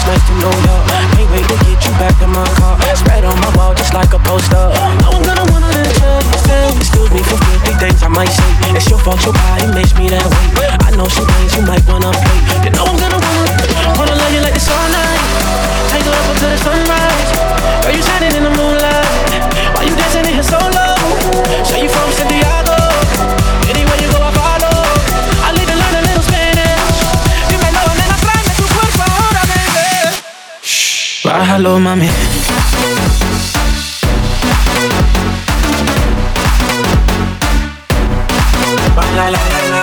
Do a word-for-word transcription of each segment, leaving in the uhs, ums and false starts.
nice to know ya. Can't wait to get you back in my car. Spread on my wall just like a poster. No one gonna wanna let you stay. Excuse me for filthy things I might say. It's your fault, your body makes me that way. I know some things you might wanna play. You know I'm gonna wanna Wanna love you like this all night. Take you up until the sunrise. Girl, you shining in the moonlight. Why you dancing in here so low? Say you from Santiago. Anywhere you go I follow. I live and learn a little Spanish. Dímelo, nena, tráeme tu cuerpo ahora, baby. Shh, bájalo, mami. La, la, la, la.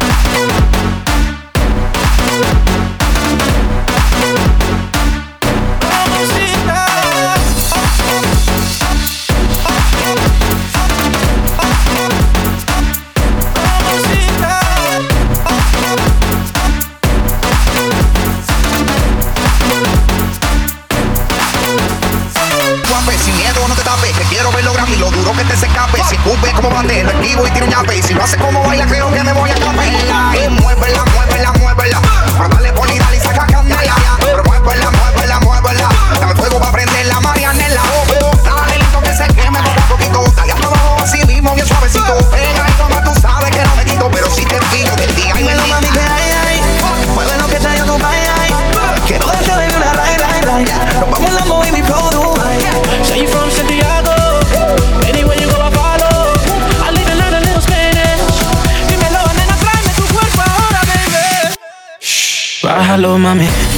Sin miedo no te tapes, que quiero ver lo grande y lo duro que te se escape. Si escupe como bandera, esquivo y tiro ñape. Si lo hace como baila, creo que me voy a capela. Y muévela, muévela, muévela. Pero dale por y dale y saca candela. Pero muévela, muévela, muévela. Dame fuego pa' prender la Marianela. Oh, oh, dale listo que se queme poco a poquito. Dale a trabajo así mismo, bien suavecito. Pega y toma, tú sabes que no me quito. Pero si te pillo del día y me lo mami que hay, hay. Mueve lo que trae tu vaya. Quiero darte baby una ray, ray, ray. Nos vamos en la movie, mi flow. Say you from Santiago. Anywhere you go I follow. I live and learn a little Spanish. Dímelo, nena, tráeme tu cuerpo ahora, baby. Shh, bájalo, mami.